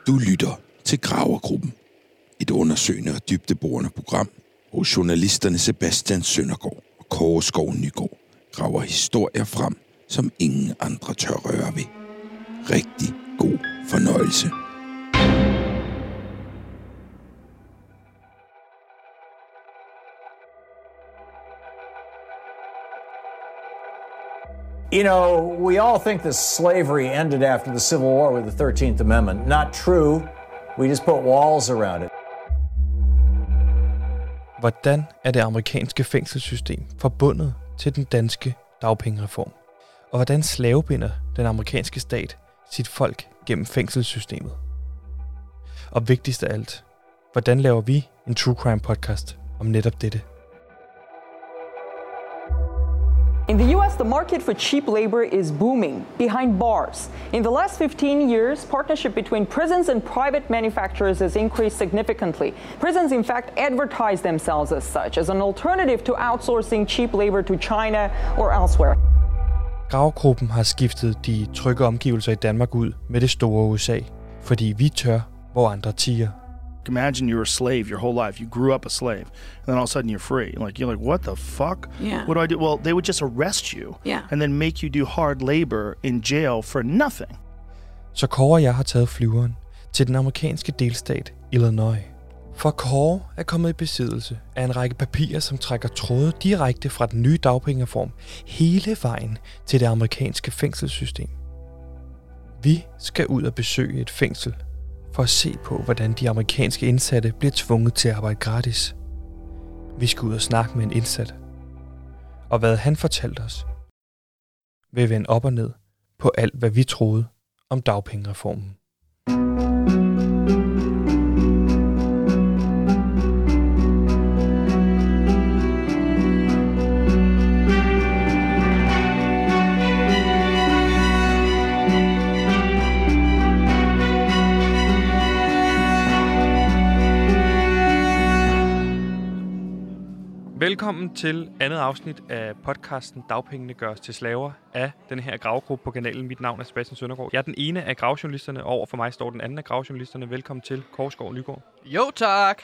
Du lytter til Gravergruppen. Et undersøgende og dybdeborende program, hvor journalisterne Sebastian Søndergaard og Kåre Skov Nygaard graver historier frem, som ingen andre tør røre ved. Rigtig god fornøjelse. You know, we all think that slavery ended after the Civil War with the 13th Amendment. Not true. We just put walls around it. Hvordan er det amerikanske fængselssystem forbundet til den danske dagpengereform? Og hvordan slavebinder den amerikanske stat sit folk gennem fængselssystemet? Og vigtigst af alt, hvordan laver vi en true crime podcast om netop dette? In the US, the market for cheap labor is booming behind bars. In the last 15 years, partnership between prisons and private manufacturers has increased significantly. Prisons, in fact, advertise themselves as such, as an alternative to outsourcing cheap labor to China or elsewhere. Gravergruppen har skiftet de trygge omgivelser i Danmark ud med det store USA, fordi vi tør, hvor andre tiger. Imagine you're a slave your whole life. You grew up a slave, and then all of a sudden you're free. You're like, what the fuck? Yeah. What do I do? Well, they would just arrest you, and then make you do hard labor in jail for nothing. Så Kåre og jeg har taget flyveren til den amerikanske delstat Illinois. For Kåre er kommet i besiddelse af en række papirer, som trækker tråde direkte fra den nye dagpengereform hele vejen til det amerikanske fængselssystem. Vi skal ud og besøge et fængsel for at se på, hvordan de amerikanske indsatte bliver tvunget til at arbejde gratis. Vi skal ud og snakke med en indsat. Og hvad han fortalte os, vil vende op og ned på alt, hvad vi troede om dagpengereformen. Velkommen til andet afsnit af podcasten Dagpengene gøres til slaver af den her gravegruppe på kanalen. Mit navn er Sebastian Søndergaard. Jeg er den ene af gravjournalisterne, og over for mig står den anden af gravjournalisterne. Velkommen til Kåre Skov Nygaard. Jo tak,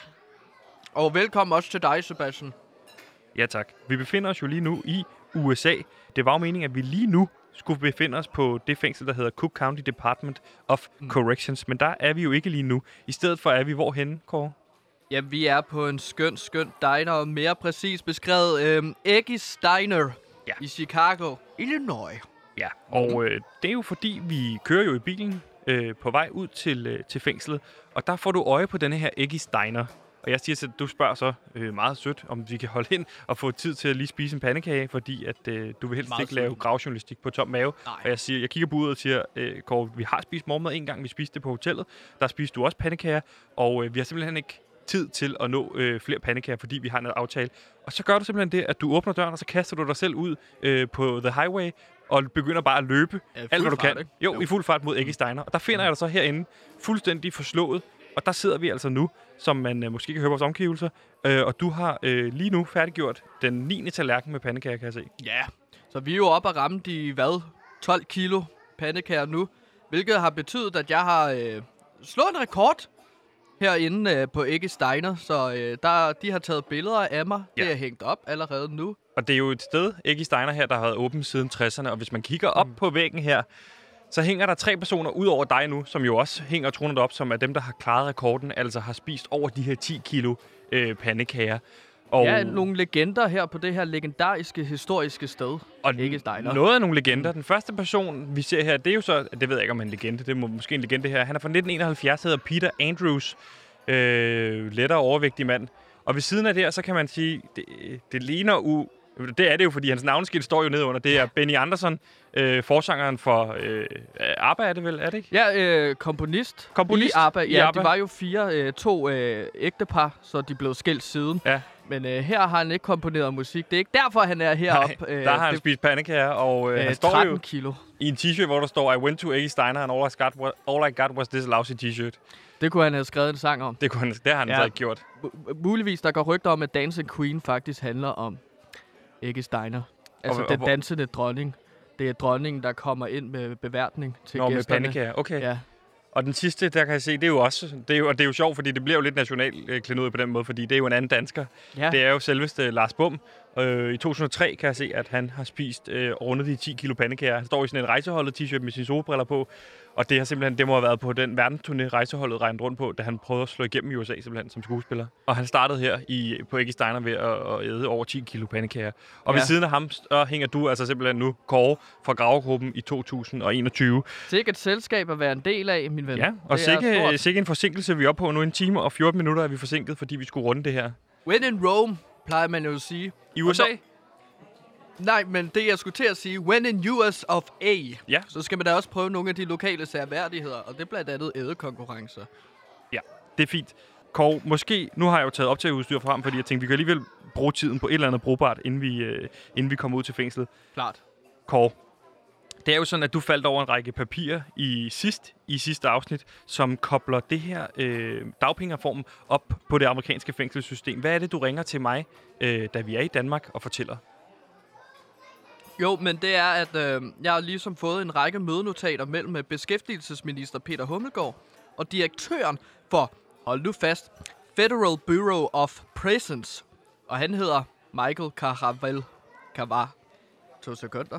og velkommen også til dig, Sebastian. Ja tak. Vi befinder os jo lige nu i USA. Det var jo meningen, at vi lige nu skulle befinde os på det fængsel, der hedder Cook County Department of Corrections. Men der er vi jo ikke lige nu. I stedet for er vi hvorhenne, Kåre? Ja, vi er på en skøn diner, og mere præcis beskrevet Eggie's Diner i Chicago, Illinois. Ja, og det er jo fordi, vi kører jo i bilen på vej ud til fængslet, og der får du øje på denne her Eggie's Diner. Og jeg siger, at du spørger så meget sødt, om vi kan holde ind og få tid til at lige spise en pandekage, fordi at du vil helst meget ikke lave gravjournalistik på tom mave. Nej. Og jeg kigger på uret og siger, Kåre, vi har spist morgenmad en gang, vi spiste det på hotellet. Der spiste du også pandekager, og vi har simpelthen ikke tid til at nå flere pandekager, fordi vi har en aftale. Og så gør du simpelthen det, at du åbner døren, og så kaster du dig selv ud på the highway, og begynder bare at løbe alt, hvad du kan. Jo, i fuld fart mod Eggie's Diner. Og der finder jeg dig så herinde, fuldstændig forslået. Og der sidder vi altså nu, som man måske kan høre vores omgivelser. Og du har lige nu færdiggjort den 9. tallerken med pandekager, kan jeg se. Ja, så vi er jo oppe og ramme de, 12 kilo pandekager nu. Hvilket har betydet, at jeg har slået en rekord herinde på Eggie's Diner, så de har taget billeder af mig. Ja. Det er hængt op allerede nu. Og det er jo et sted, Eggie's Diner her, der har været åbent siden 60'erne, og hvis man kigger op på væggen her, så hænger der 3 personer ud over dig nu, som jo også hænger tronet op, som er dem, der har klaret rekorden, altså har spist over de her 10 kilo pandekager. Og ja, nogle legender her på det her legendariske, historiske sted. Og Eggie's Diner. Noget af nogle legender. Den første person, vi ser her, det er jo så, det ved jeg ikke om en legende, det er måske en legende her. Han er fra 1971, hedder Peter Andrews, lettere overvægtig mand. Og ved siden af det her, så kan man sige, det ligner det er det jo, fordi hans navneskilt står jo nede under. Det er Benny Andersson, forsangeren for ABBA, er det vel, er det ikke? Ja, komponist i ABBA. Ja, de var jo to ægtepar, så de blev skilt siden. Ja. Men her har han ikke komponeret musik. Det er ikke derfor, han er heroppe. Der har han spist pandekager, og han står 13 kilo. I en t-shirt, hvor der står, I went to Eggie's Diner, and all I got was this lousy t-shirt. Det kunne han have skrevet en sang om. Det har han så ikke gjort. Muligvis, der går rygter om, at Dancing Queen faktisk handler om Eggie's Diner. Altså den dansende dronning. Det er dronningen, der kommer ind med beværtning til gæsterne. Med pandekager, okay. Ja. Og den sidste, der kan jeg se, det er jo sjovt, fordi det bliver jo lidt national på den måde, fordi det er jo en anden dansker. Ja. Det er jo selveste Lars Bum. I 2003 kan jeg se, at han har spist rundet de 10 kilo pandekager. Han står i sådan en rejseholdet t-shirt med sine solbriller på. Og det må have været på den verdensturné, rejseholdet regnet rundt på, da han prøvede at slå igennem i USA simpelthen som skuespiller. Og han startede her på Eggy Steiner ved at æde over 10 kilo pandekager. Og ved siden af ham hænger du altså simpelthen nu, Kåre fra Gravegruppen i 2021. Sikke et selskab at være en del af, min ven. Ja, og sikke en forsinkelse, vi er oppe på nu. 1 time og 14 minutter er vi forsinket, fordi vi skulle runde det her. When in Rome, plejer man jo at sige. I USA? Nej, men det jeg skulle til at sige, when in US of A, ja. Så skal man da også prøve nogle af de lokale særværdigheder, og det er blandt andet ædekonkurrencer. Ja, det er fint. Kåre, måske, nu har jeg jo taget optageudstyr frem, fordi jeg tænkte, vi kan alligevel bruge tiden på et eller andet brugbart, inden vi kommer ud til fængslet. Klart. Kåre, det er jo sådan, at du faldt over en række papirer i sidste afsnit, som kobler det her dagpengereformen op på det amerikanske fængselssystem. Hvad er det, du ringer til mig, da vi er i Danmark, og fortæller? Jo, men det er, at jeg har ligesom fået en række mødenotater mellem beskæftigelsesminister Peter Hummelgaard og direktøren for, hold nu fast, Federal Bureau of Prisons. Og han hedder Michael Caravel. 2 sekunder.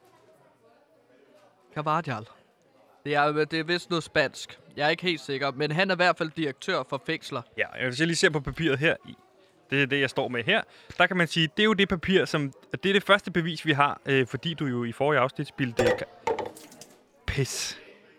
Carvajal. Det er vist noget spansk. Jeg er ikke helt sikker, men han er i hvert fald direktør for fængsler. Ja, hvis jeg lige ser på papiret her, det er det, jeg står med her, der kan man sige, det er jo det papir, det er det første bevis, vi har, fordi du jo i forrige afsnit spildte Pis.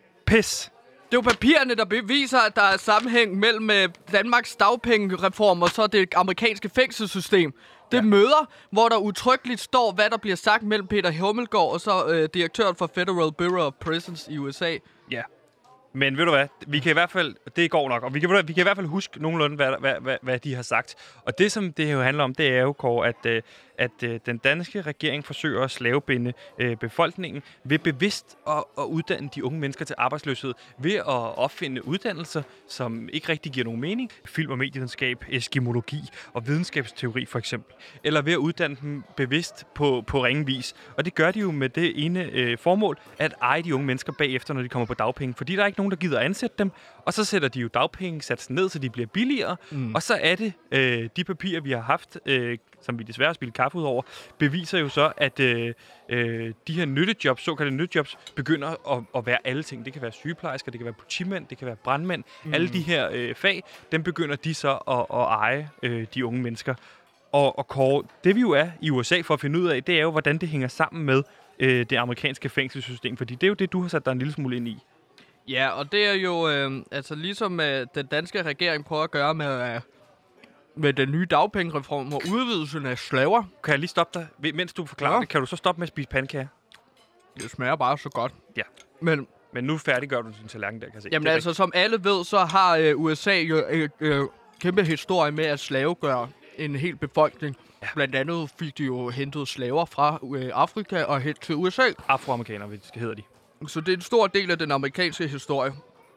Det er jo papirerne, der beviser, at der er sammenhæng mellem Danmarks dagpengereform og så det amerikanske fængselssystem. Det møder, hvor der udtrykkeligt står, hvad der bliver sagt mellem Peter Hummelgaard og så direktøren for Federal Bureau of Prisons i USA. Ja. Men ved du hvad, vi kan i hvert fald, det går nok, og vi kan i hvert fald huske nogenlunde, hvad de har sagt. Og det, som det jo handler om, det er jo, Kåre, at den danske regering forsøger at slavebinde befolkningen ved bevidst at uddanne de unge mennesker til arbejdsløshed, ved at opfinde uddannelser, som ikke rigtig giver nogen mening. Film- og medievidenskab, eskimologi og videnskabsteori for eksempel. Eller ved at uddanne dem bevidst på ringe vis. Og det gør de jo med det ene formål, at eje de unge mennesker bagefter, når de kommer på dagpenge. Fordi der er ikke nogen, der gider at ansætte dem, og så sætter de jo dagpengesatsen ned, så de bliver billigere. Og så er det de papirer, vi har haft, som vi desværre har spillet kaffe ud over, beviser jo så, at de her nyttejobs, såkaldte nyttejobs, begynder at være alle ting. Det kan være sygeplejersker, det kan være politimænd, det kan være brandmænd. Alle de her fag, dem begynder de så at eje, de unge mennesker. Og Kåre, det vi jo er i USA for at finde ud af, det er jo, hvordan det hænger sammen med det amerikanske fængselssystem. Fordi det er jo det, du har sat dig en lille smule ind i. Ja, og det er jo altså ligesom den danske regering prøver at gøre med den nye dagpengereform og udvidelsen af slaver. Kan jeg lige stoppe dig? Mens du forklarer det, kan du så stoppe med at spise pandekager? Det smager bare så godt. Ja. Men nu færdiggør du din tallerken der, kan jeg se. Jamen altså, som alle ved, så har USA jo kæmpe historie med at slavegøre en hel befolkning. Ja. Blandt andet fik de jo hentet slaver fra Afrika og hen til USA. Afroamerikanere, hedder de. Så det er en stor del af den amerikanske historie.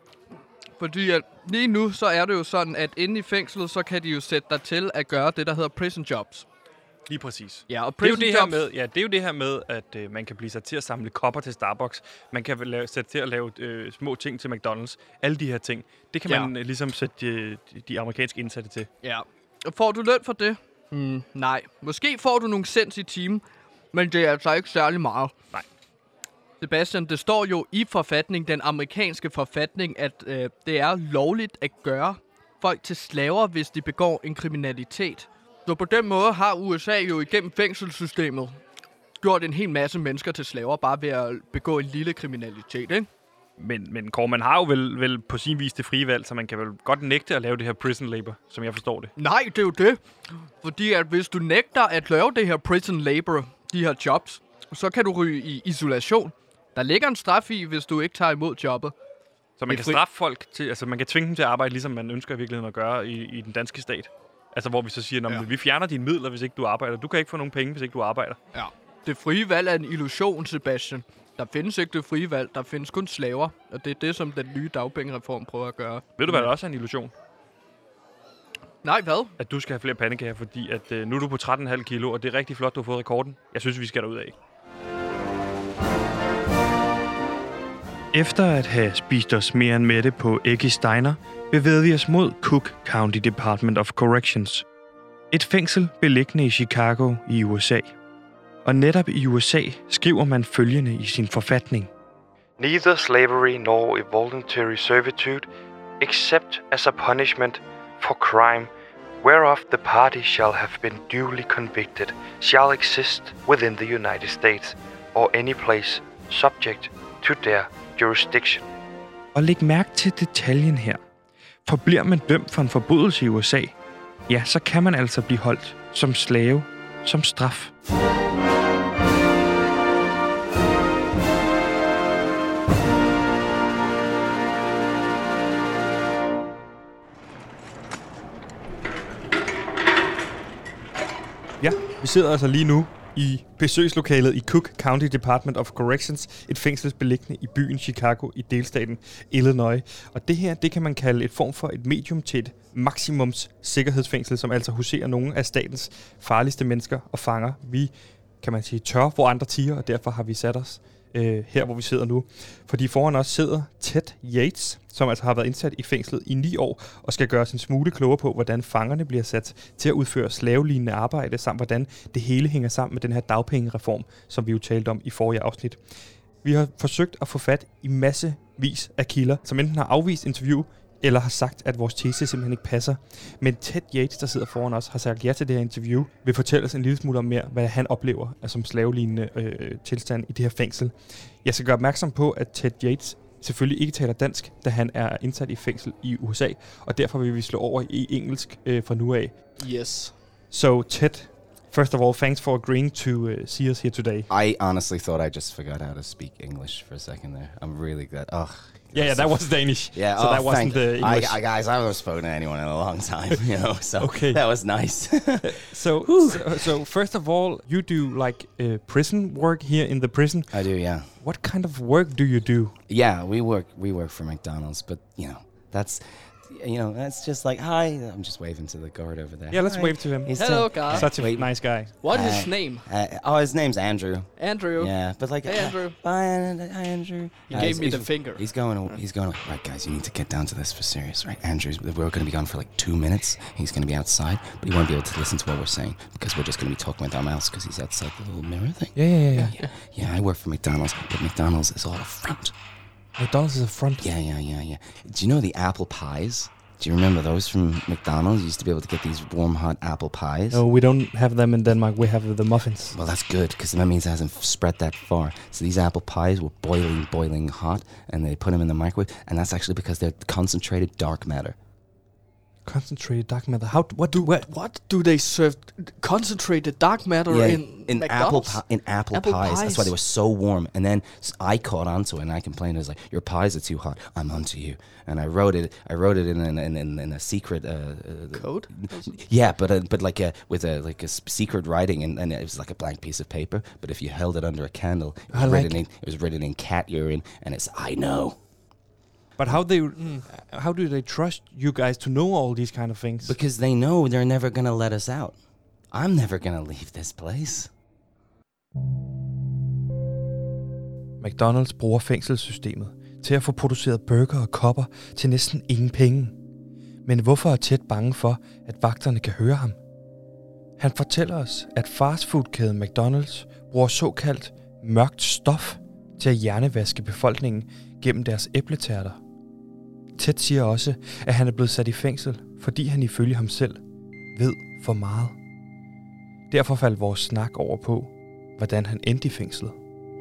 Fordi at lige nu, så er det jo sådan, at inde i fængslet, så kan de jo sætte dig til at gøre det, der hedder prison jobs. Lige præcis. Ja, og det er jo det her med, at man kan blive sat til at samle kopper til Starbucks. Man kan sætte til at lave små ting til McDonald's. Alle de her ting. Det kan man ligesom sætte de amerikanske indsatte til. Ja. Og får du løn for det? Nej. Måske får du nogle cents i timen, men det er altså ikke særlig meget. Nej. Sebastian, det står jo i forfatning, den amerikanske forfatning, at det er lovligt at gøre folk til slaver, hvis de begår en kriminalitet. Så på den måde har USA jo igennem fængselssystemet gjort en hel masse mennesker til slaver, bare ved at begå en lille kriminalitet, ikke? Men Kåre, man har jo vel på sin vis det frie valg, så man kan vel godt nægte at lave det her prison labor, som jeg forstår det. Nej, det er jo det. Fordi at hvis du nægter at lave det her prison labor, de her jobs, så kan du ryge i isolation. Der ligger en straf i, hvis du ikke tager imod jobbet. Så man kan straffe folk til, altså man kan tvinge dem til at arbejde, ligesom man ønsker i virkeligheden at gøre i den danske stat. Altså hvor vi så siger, vi fjerner dine midler, hvis ikke du arbejder. Du kan ikke få nogen penge, hvis ikke du arbejder. Ja. Det frie valg er en illusion, Sebastian. Der findes ikke det frie valg, der findes kun slaver. Og det er det, som den nye dagpengereform prøver at gøre. Ved du, hvad der også er en illusion? Nej, hvad? At du skal have flere pandekager, fordi at, nu er du på 13,5 kilo, og det er rigtig flot, du har fået rekorden. Jeg synes, vi skal derud af. Efter at have spist os mere end mætte på Eggie's Diner, bevægede vi os mod Cook County Department of Corrections. Et fængsel beliggende i Chicago i USA. Og netop i USA skriver man følgende i sin forfatning. Neither slavery nor involuntary servitude, except as a punishment for crime, whereof the party shall have been duly convicted, shall exist within the United States, or any place subject to their jurisdiction. Og læg mærke til detaljen her. For bliver man dømt for en forbrydelse i USA, ja, så kan man altså blive holdt som slave, som straf. Ja, vi sidder altså lige nu i besøgslokalet i Cook County Department of Corrections, et fængsel beliggende i byen Chicago i delstaten Illinois. Og det her, det kan man kalde et form for et medium til et maksimums sikkerhedsfængsel, som altså huserer nogle af statens farligste mennesker og fanger. Vi, kan man sige, tør, hvor andre tiger, og derfor har vi sat os her, hvor vi sidder nu. Fordi foran os sidder Ted Yates, som altså har været indsat i fængslet i 9 år, og skal gøre sin smule klogere på, hvordan fangerne bliver sat til at udføre slavelignende arbejde, samt hvordan det hele hænger sammen med den her dagpengereform, som vi jo talte om i forrige afsnit. Vi har forsøgt at få fat i massevis af kilder, som enten har afvist interview, eller har sagt, at vores tese simpelthen ikke passer. Men Ted Yates, der sidder foran os, har sagt ja til det her interview, vil fortælle os en lille smule om mere, hvad han oplever som slavelignende tilstand i det her fængsel. Jeg skal gøre opmærksom på, at Ted Yates selvfølgelig ikke taler dansk, da han er indsat i fængsel i USA, og derfor vil vi slå over i engelsk fra nu af. Yes. So Ted, first of all, thanks for agreeing to see us here today. I honestly thought I just forgot how to speak English for a second there. I'm really glad. Yeah, that was Danish. Yeah, so that wasn't the English. Guys, I haven't spoken to anyone in a long time, so okay. That was nice. So first of all, you do like prison work here in the prison. I do, yeah. What kind of work do you do? Yeah, we work for McDonald's, but that's just like, hi. I'm just waving to the guard over there. Yeah, let's hi. wave to him. Hello, guy. Such a nice guy. What is his name? His name's Andrew. Andrew. Yeah, but like, hey, Andrew. Bye, hi, Andrew. He gave me the finger. He's going. Right, guys, you need to get down to this for serious, right? We're going to be gone for like 2 minutes. He's going to be outside, but he won't be able to listen to what we're saying because we're just going to be talking with our mouths because he's outside the little mirror thing. Yeah. I work for McDonald's, but McDonald's is all a front. McDonald's is a front? Yeah. Do you know the apple pies? Do you remember those from McDonald's? You used to be able to get these warm, hot apple pies. No, we don't have them in Denmark. We have the muffins. Well, that's good, because that means it hasn't spread that far. So these apple pies were boiling hot, and they put them in the microwave, and that's actually because they're concentrated dark matter. Concentrated dark matter. What do they serve? Concentrated dark matter in McDonald's? Apple pies. That's why they were so warm. And then I caught onto it, and I complained. I was like, "Your pies are too hot. I'm onto you." And I wrote it in a secret code. Yeah, but like with a secret writing, and it was like a blank piece of paper. But if you held it under a candle, it was written in cat urine, and it's I know. But how do they trust you guys to know all these kind of things? Because they know they're never gonna let us out. I'm never gonna leave this place. McDonald's bruger fængselssystemet til at få produceret burger og kopper til næsten ingen penge. Men hvorfor er Ted bange for, at vagterne kan høre ham? Han fortæller os, at fastfoodkæden McDonald's bruger såkaldt mørkt stof til at hjernevaske befolkningen gennem deres æbletærter. Ted siger også, at han er blevet sat i fængsel, fordi han ifølge ham selv ved for meget. Derfor faldt vores snak over på, hvordan han endte i fængslet.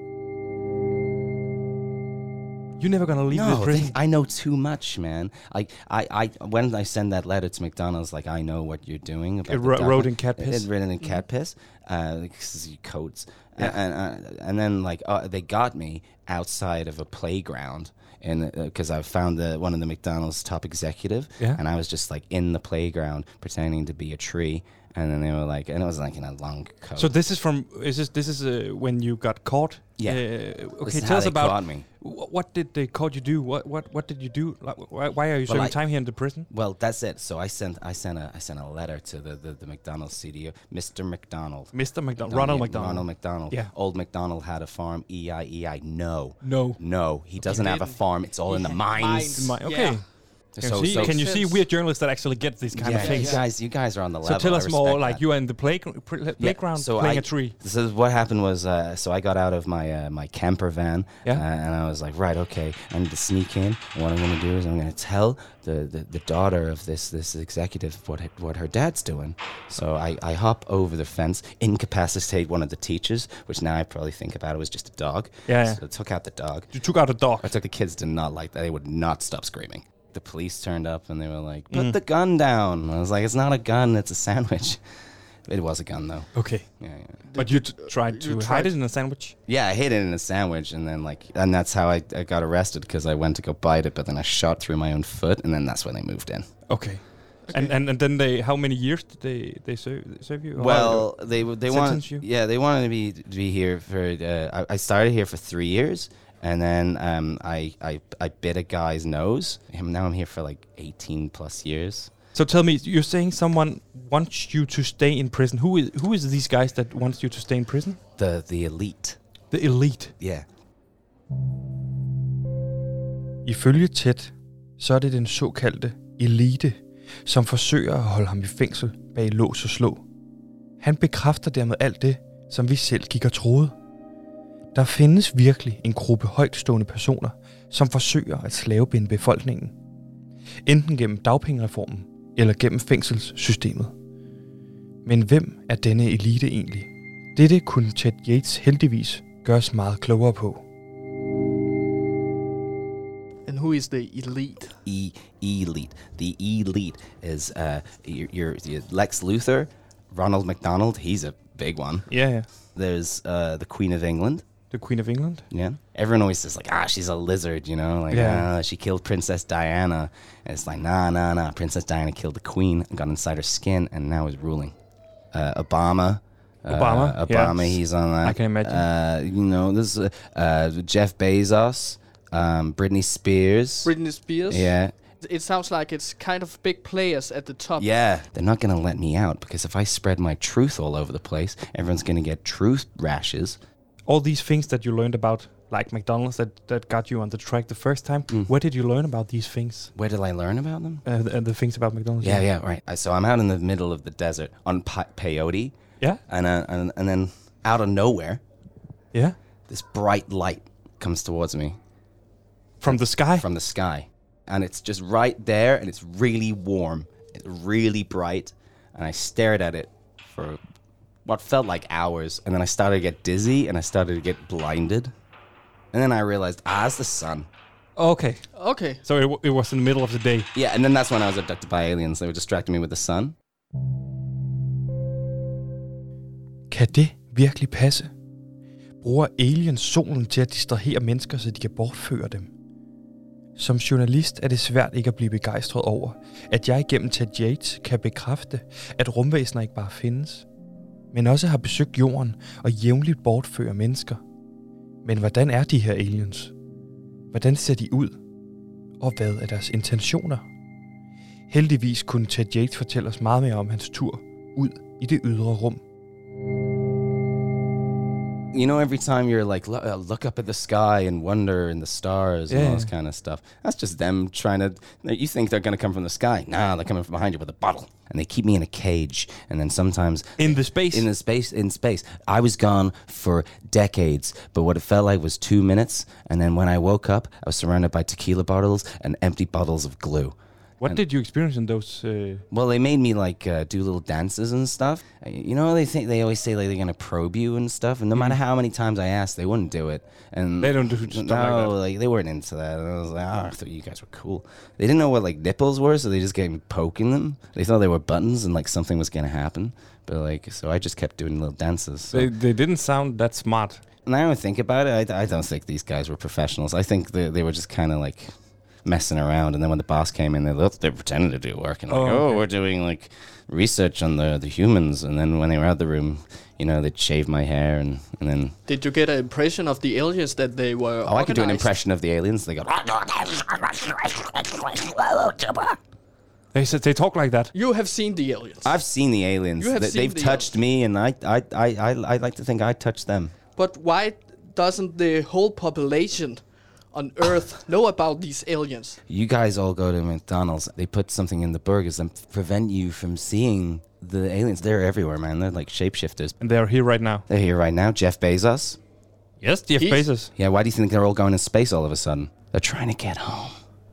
You're never gonna leave the prison. I know too much, man. I when I send that letter to McDonald's, like I know what you're doing. About it wrote in cat piss. It's written in cat piss. Codes. Yeah. And then like they got me outside of a playground, and because I found one of the McDonald's top executive, and I was just like in the playground pretending to be a tree. And then they were like, and it was like in a long coat. So this is when you got caught? Yeah. Okay, tell us about caught me. What did they caught you do? What did you do? Like, why are you serving time here in the prison? Well, that's it. So I sent a letter to the McDonald's CDO, Mr. McDonald. Ronald McDonald. Ronald McDonald. Yeah. Old McDonald had a farm. E-I-E-I. No. No. No. He doesn't have a farm. It's all in the mines. Okay. Yeah. Can you see weird journalists that actually get these kind of things? You guys are on the level. So tell us more, like that. you are in the playground so playing a tree. So what happened was, so I got out of my my camper van, and I was like, right, okay, I need to sneak in. And what I'm going to do is I'm going to tell the daughter of this executive what her dad's doing. So I hop over the fence, incapacitate one of the teachers, which now I probably think about it was just a dog. Yeah. So I took out the dog. You took out a dog. I took the kids did not like that. They would not stop screaming. The police turned up and they were like, put the gun down. I was like, it's not a gun, it's a sandwich. It was a gun, though. Okay. Yeah. But you tried to hide it in a sandwich? Yeah, I hid it in a sandwich, and then and that's how I got arrested, because I went to go bite it, but then I shot through my own foot, and then that's when they moved in. Okay. And then how many years did they serve you? Well, they wanted you? Yeah, they wanted me to be here for. I started here for 3 years. And then I bit a guy's nose. Now I'm here for like 18 plus years. So tell me, you're saying someone wants you to stay in prison. Who is these guys that wants you to stay in prison? The elite. The elite? Yeah. Ifølge Ted, så er det den såkaldte elite, som forsøger at holde ham i fængsel bag lås og slå. Han bekræfter dermed alt det, som vi selv gik og troede. Der findes virkelig en gruppe højtstående personer, som forsøger at slavebinde befolkningen. Enten gennem dagpengereformen eller gennem fængselssystemet. Men hvem er denne elite egentlig? Dette kunne Ted Yates heldigvis gøres meget klogere på. And who is the elite? Elite. The elite is your Lex Luthor, Ronald McDonald. He's a big one. Yeah. There's the Queen of England. The Queen of England? Yeah. Everyone always says, like, she's a lizard, you know? Like, she killed Princess Diana. And it's like, nah. Princess Diana killed the queen and got inside her skin and now is ruling. Obama, he's on that. I can imagine. This Jeff Bezos, Britney Spears. Yeah. It sounds like it's kind of big players at the top. Yeah. They're not going to let me out, because if I spread my truth all over the place, everyone's going to get truth rashes. All these things that you learned about, like McDonald's, that got you on the track the first time, where did you learn about these things? Where did I learn about them? The things about McDonald's. Yeah, right. So I'm out in the middle of the desert on peyote. Yeah. And then out of nowhere, this bright light comes towards me. From the sky? From the sky. And it's just right there, and it's really warm. It's really bright. And I stared at it for what felt like hours, and then I started to get dizzy, and I started to get blinded. And then I realized, it's the sun. Okay. So it was in the middle of the day. Yeah, and then that's when I was abducted by aliens. They were distracting me with the sun. Kan det virkelig passe? Bruger aliens solen til at distrahere mennesker, så de kan bortføre dem? Som journalist er det svært ikke at blive begejstret over, at jeg igennem Ted Yates kan bekræfte, at rumvæsener ikke bare findes, men også har besøgt jorden og jævnligt bortfører mennesker. Men hvordan er de her aliens? Hvordan ser de ud? Og hvad er deres intentioner? Heldigvis kunne Ted Yates fortælle os meget mere om hans tur ud i det ydre rum. You know, every time you're like, look up at the sky and wonder in the stars and all this kind of stuff. That's just them trying to, you think they're going to come from the sky. Nah, they're coming from behind you with a bottle. And they keep me in a cage. And then sometimes... In space. I was gone for decades. But what it felt like was 2 minutes. And then when I woke up, I was surrounded by tequila bottles and empty bottles of glue. What did you experience in those? Well, they made me like do little dances and stuff. You know, they always say like they're gonna probe you and stuff, and no matter how many times I asked, they wouldn't do it. And they don't do stuff like that. Like they weren't into that. And I was like, I thought you guys were cool. They didn't know what like nipples were, so they just gave me poking them. They thought they were buttons and like something was gonna happen. But like, so I just kept doing little dances. So. They didn't sound that smart. Now I think about it, I don't think these guys were professionals. I think they were just kind of like messing around, and then when the boss came in, they pretended to do work and like, we're doing like research on the humans, and then when they were out of the room, you know, they'd shave my hair and then. Did you get an impression of the aliens that they were? I could do an impression of the aliens. They go. They talk like that. You have seen the aliens. I've seen the aliens. They've touched me, and I like to think I touched them. But why doesn't the whole population on Earth know about these aliens? You guys all go to McDonald's. They put something in the burgers and prevent you from seeing the aliens. They're everywhere, man. They're like shapeshifters. And they're here right now. They're here right now. Jeff Bezos. Yes, Jeff Bezos. Yeah, why do you think they're all going to space all of a sudden? They're trying to get home.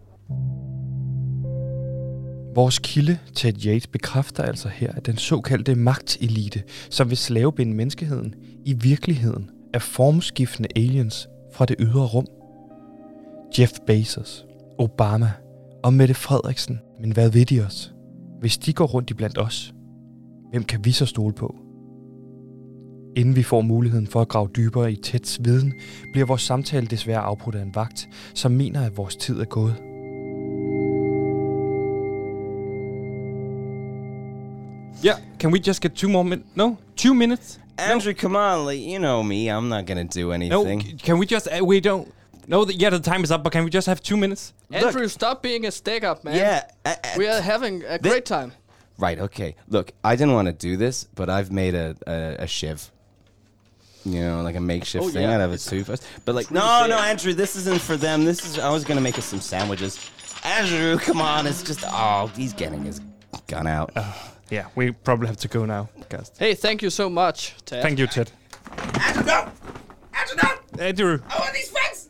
Vores kilde, Ted Yates, bekræfter altså her, at den såkaldte magtelite, som vil slavebinde menneskeheden, i virkeligheden er formskiftende aliens fra det ydre rum. Jeff Bezos, Obama og Mette Frederiksen. Men hvad ved de os? Hvis de går rundt iblandt os, hvem kan vi så stole på? Inden vi får muligheden for at grave dybere i Teds viden, bliver vores samtale desværre afbrudt af en vagt, som mener, at vores tid er gået. Yeah, can we just get 2 more minutes? No? 2 minutes? Andrew, come on. Like, you know me. I'm not going to do anything. No, can we just... we don't... No, the time is up, but can we just have 2 minutes? Andrew, stop being a stick-up, man. Yeah. We are having a great time. Right, okay. Look, I didn't want to do this, but I've made a shiv. You know, like a makeshift thing out of a toothbrush. But like, no, Andrew, this isn't for them. I was going to make us some sandwiches. Andrew, come on. It's just... Oh, he's getting his gun out. Yeah, we probably have to go now. Guys. Hey, thank you so much, Ted. Thank you, Ted. Andrew, no! Andrew, no! Andrew! I want these friends!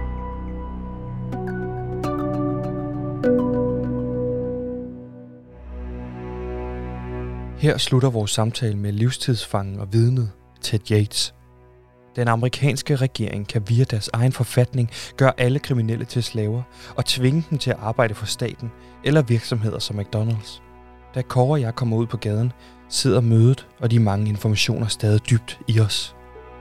Her slutter vores samtale med livstidsfangen og vidnet Ted Yates. Den amerikanske regering kan via deres egen forfatning gøre alle kriminelle til slaver og tvinge dem til at arbejde for staten eller virksomheder som McDonald's. Da Kåre og jeg kommer ud på gaden, sidder mødet og de mange informationer stadig dybt i os.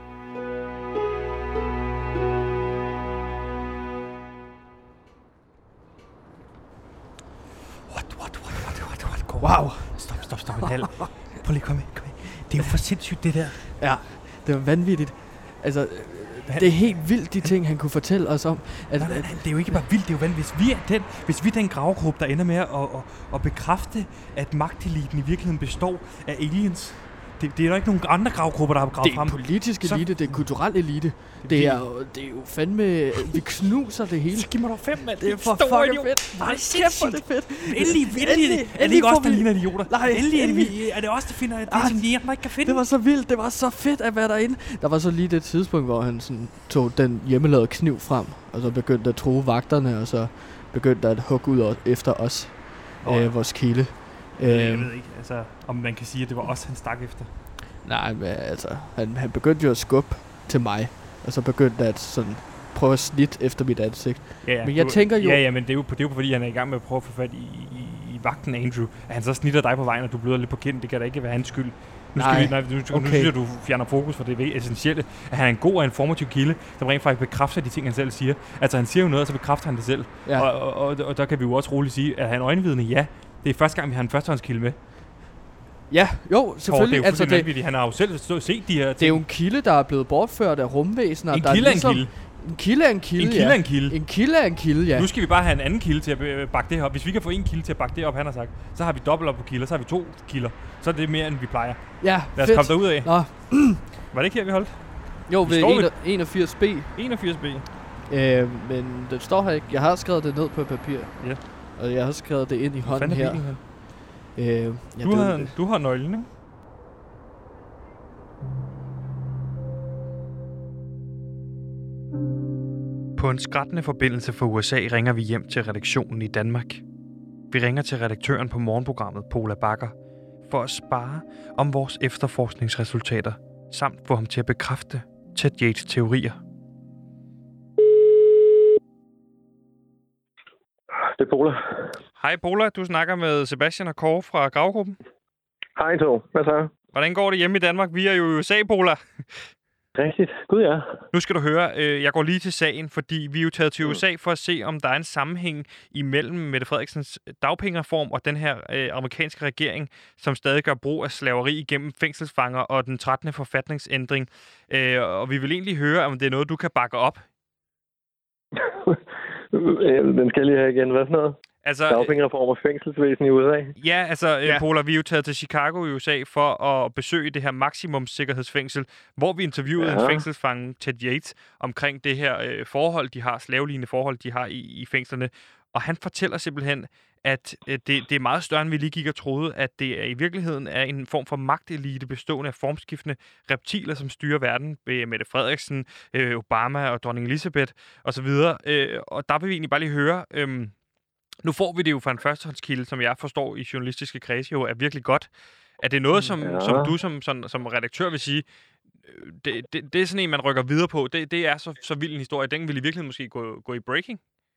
Wow. Stop en halv. Prøv lige, kom ind. Det er jo for sindssygt, det der. Ja, det var vanvittigt. Altså, det er helt vildt, de ting, han kunne fortælle os om. Nej, det er jo ikke bare vildt, det er jo vanvittigt. Hvis vi er den gravgruppe, der ender med at bekræfte, at magteliten i virkeligheden består af aliens. Det er der ikke nogen andre gravgrupper, der har gravet frem. Det er politisk elite, det er kulturel elite. Det er jo fandme... Vi knuser det hele. Så giv mig dog 5, mand. Det er for fucking fedt. Nej, sindssygt. Det er fedt. Endelig er det ikke os, der ligner idioter. Nej, endelig er det os, der finder det, som de andre ikke kan finde. Det var så vildt. Det var så fedt at være derinde. Der var så lige det tidspunkt, hvor han sådan tog den hjemmelavede kniv frem, og så begyndte at true vagterne, og så begyndte at hugge ud efter os, vores kilde. Jeg ved ikke, altså, om man kan sige, at det var os, han stak efter. Nej, men altså, han begyndte jo at skubbe til mig, og så begyndte at sådan prøve at snit efter mit ansigt. Ja, men jeg tænker jo... Ja, men det er jo fordi, han er i gang med at prøve at få fat i vagten, Andrew. At han så snitter dig på vejen, og du bløder lidt på kinden, det kan da ikke være hans skyld. Nu synes jeg, du fjerner fokus for det essentielle, at han er en god og informativ kilde, der rent faktisk bekræfter de ting, han selv siger. Altså, han siger jo noget, og så bekræfter han det selv. Ja. Og der kan vi jo også roligt sige, at han er øjenvidne, ja. Det er første gang, vi har en førstehåndskilde med. Ja, jo, selvfølgelig. Det er jo fuldstændig vanvittigt. Han har jo selv set de her ting. Det er jo en kilde, der er blevet bortført af rumvæsener. En kilde er en kilde. En kilde er en kilde, En kilde er en kilde. En kilde er en kilde, ja. Nu skal vi bare have en anden kilde til at bakke det her op. Hvis vi kan få en kilde til at bakke det op, han har sagt, så har vi dobbelt op på kilder, så har vi 2 kilder. Så er det mere, end vi plejer. Ja, lad os komme derud af. Nå. Var det ikke her, vi holdt? Jo, ved 81B. 81B. Men den står her ikke. Jeg har skrevet det ned på papir. Ja. Og jeg har skrevet det ind i hånden her. Du har nøglen, ikke? På en skrættende forbindelse fra USA ringer vi hjem til redaktionen i Danmark. Vi ringer til redaktøren på morgenprogrammet, Pola Bakker, for at spare om vores efterforskningsresultater, samt få ham til at bekræfte Ted Yates teorier. Det er Pola. Hej Pola, du snakker med Sebastian og Kåre fra Gravgruppen. Hej to, hvad så? Hvordan går det hjemme i Danmark? Vi er jo i USA, Pola. Rigtigt. Gud ja. Nu skal du høre, jeg går lige til sagen, fordi vi er jo taget til USA for at se, om der er en sammenhæng imellem Mette Frederiksens dagpengereform og den her amerikanske regering, som stadig gør brug af slaveri igennem fængselsfanger og den 13. forfatningsændring. Og vi vil egentlig høre, om det er noget, du kan bakke op. Den skal lige have igen. Hvad for noget? Altså, dagpengereform og fængselsvæsen i USA. Ja, altså, Pola, vi er jo taget til Chicago i USA for at besøge det her maksimumssikkerhedsfængsel, hvor vi interviewede en fængselsfange, Ted Yates, omkring det her forhold, de har, slavelignende forhold, de har i fængslerne. Og han fortæller simpelthen, at det er meget større, end vi lige gik og troede, at det i virkeligheden er en form for magtelite bestående af formskiftende reptiler, som styrer verden. Mette Frederiksen, Obama og dronning Elizabeth osv. Og der vil vi egentlig bare lige høre... Nu får vi det jo fra en førstehåndskilde, som jeg forstår i journalistiske kredse jo er virkelig godt. Er det noget, som du som redaktør vil sige, det er sådan en, man rykker videre på? Det er så vild en historie. Den vil i virkeligheden måske gå i breaking?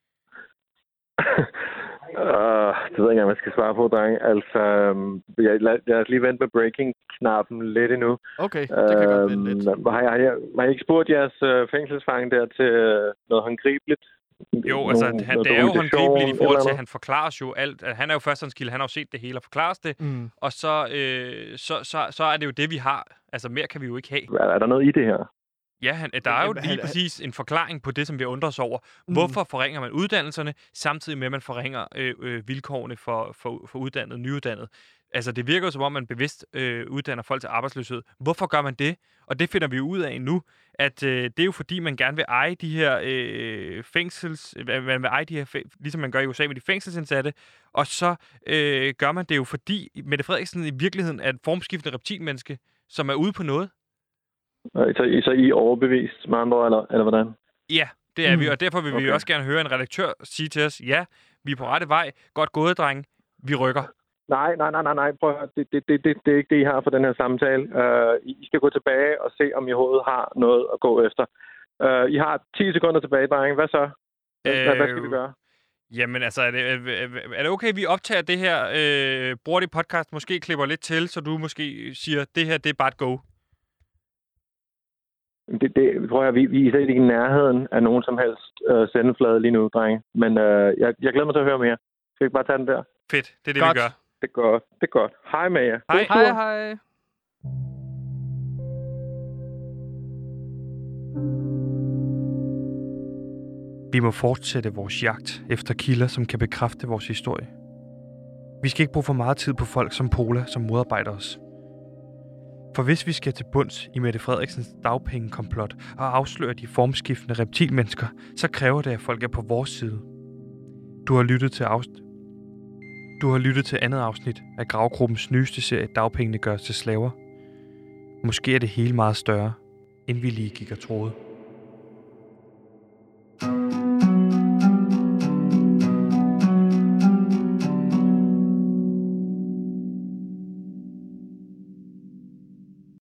Det ved jeg ikke, om jeg skal svare på, dreng. Altså, jeg har lige vendt med breaking-knappen lidt endnu. Okay, det kan godt vente lidt. Har I ikke spurgt jeres fængselsfange der til noget håndgribeligt? Jo, altså, det er jo håndgribeligt i forhold til, at han forklarer jo alt. Han er jo førstehåndskilde, han har jo set det hele og forklares det. Og så er det jo det, vi har. Altså, mere kan vi jo ikke have. Er der noget i det her? Ja, der er jo lige præcis en forklaring på det, som vi undrer os over. Hvorfor forringer man uddannelserne, samtidig med, at man forringer vilkårene for uddannet, nyuddannet? Altså, det virker jo som om, man bevidst uddanner folk til arbejdsløshed. Hvorfor gør man det? Og det finder vi ud af nu, at det er jo fordi, man gerne vil eje de her man vil eje de her, ligesom man gør i USA med de fængselsindsatte, og så gør man det jo fordi, Mette Frederiksen i virkeligheden er et formskiftende reptilmenneske, som er ude på noget. Så I er overbevist med andre, eller hvordan? Ja, det er vi, og derfor vil vi også gerne høre en redaktør sige til os, ja, vi er på rette vej, godt gået, drenge, vi rykker. Nej, prøv at høre. Det er ikke det, I har for den her samtale. I skal gå tilbage og se, om I overhovedet har noget at gå efter. I har 10 sekunder tilbage, drenge. Hvad så? Hvad skal vi gøre? Jamen altså, er det okay, vi optager det her, bruger det podcast, måske klipper lidt til, så du måske siger, det her, det er bare et go? Det tror jeg, vi er slet ikke i nærheden af nogen som helst sendeflade lige nu, drenge. Men jeg glæder mig til at høre mere. Skal vi ikke bare tage den der? Fedt, det er det, vi gør. Det er godt. Hej med jer. Hej. Vi må fortsætte vores jagt efter kilder, som kan bekræfte vores historie. Vi skal ikke bruge for meget tid på folk som Pola, som modarbejder os. For hvis vi skal til bunds i Mette Frederiksens dagpengekomplot og afsløre de formskiftende reptilmennesker, så kræver det, at folk er på vores side. Du har lyttet til andet afsnit af Gravgruppens nyeste serie Dagpengene gøres til slaver. Måske er det hele meget større, end vi lige gik og troede.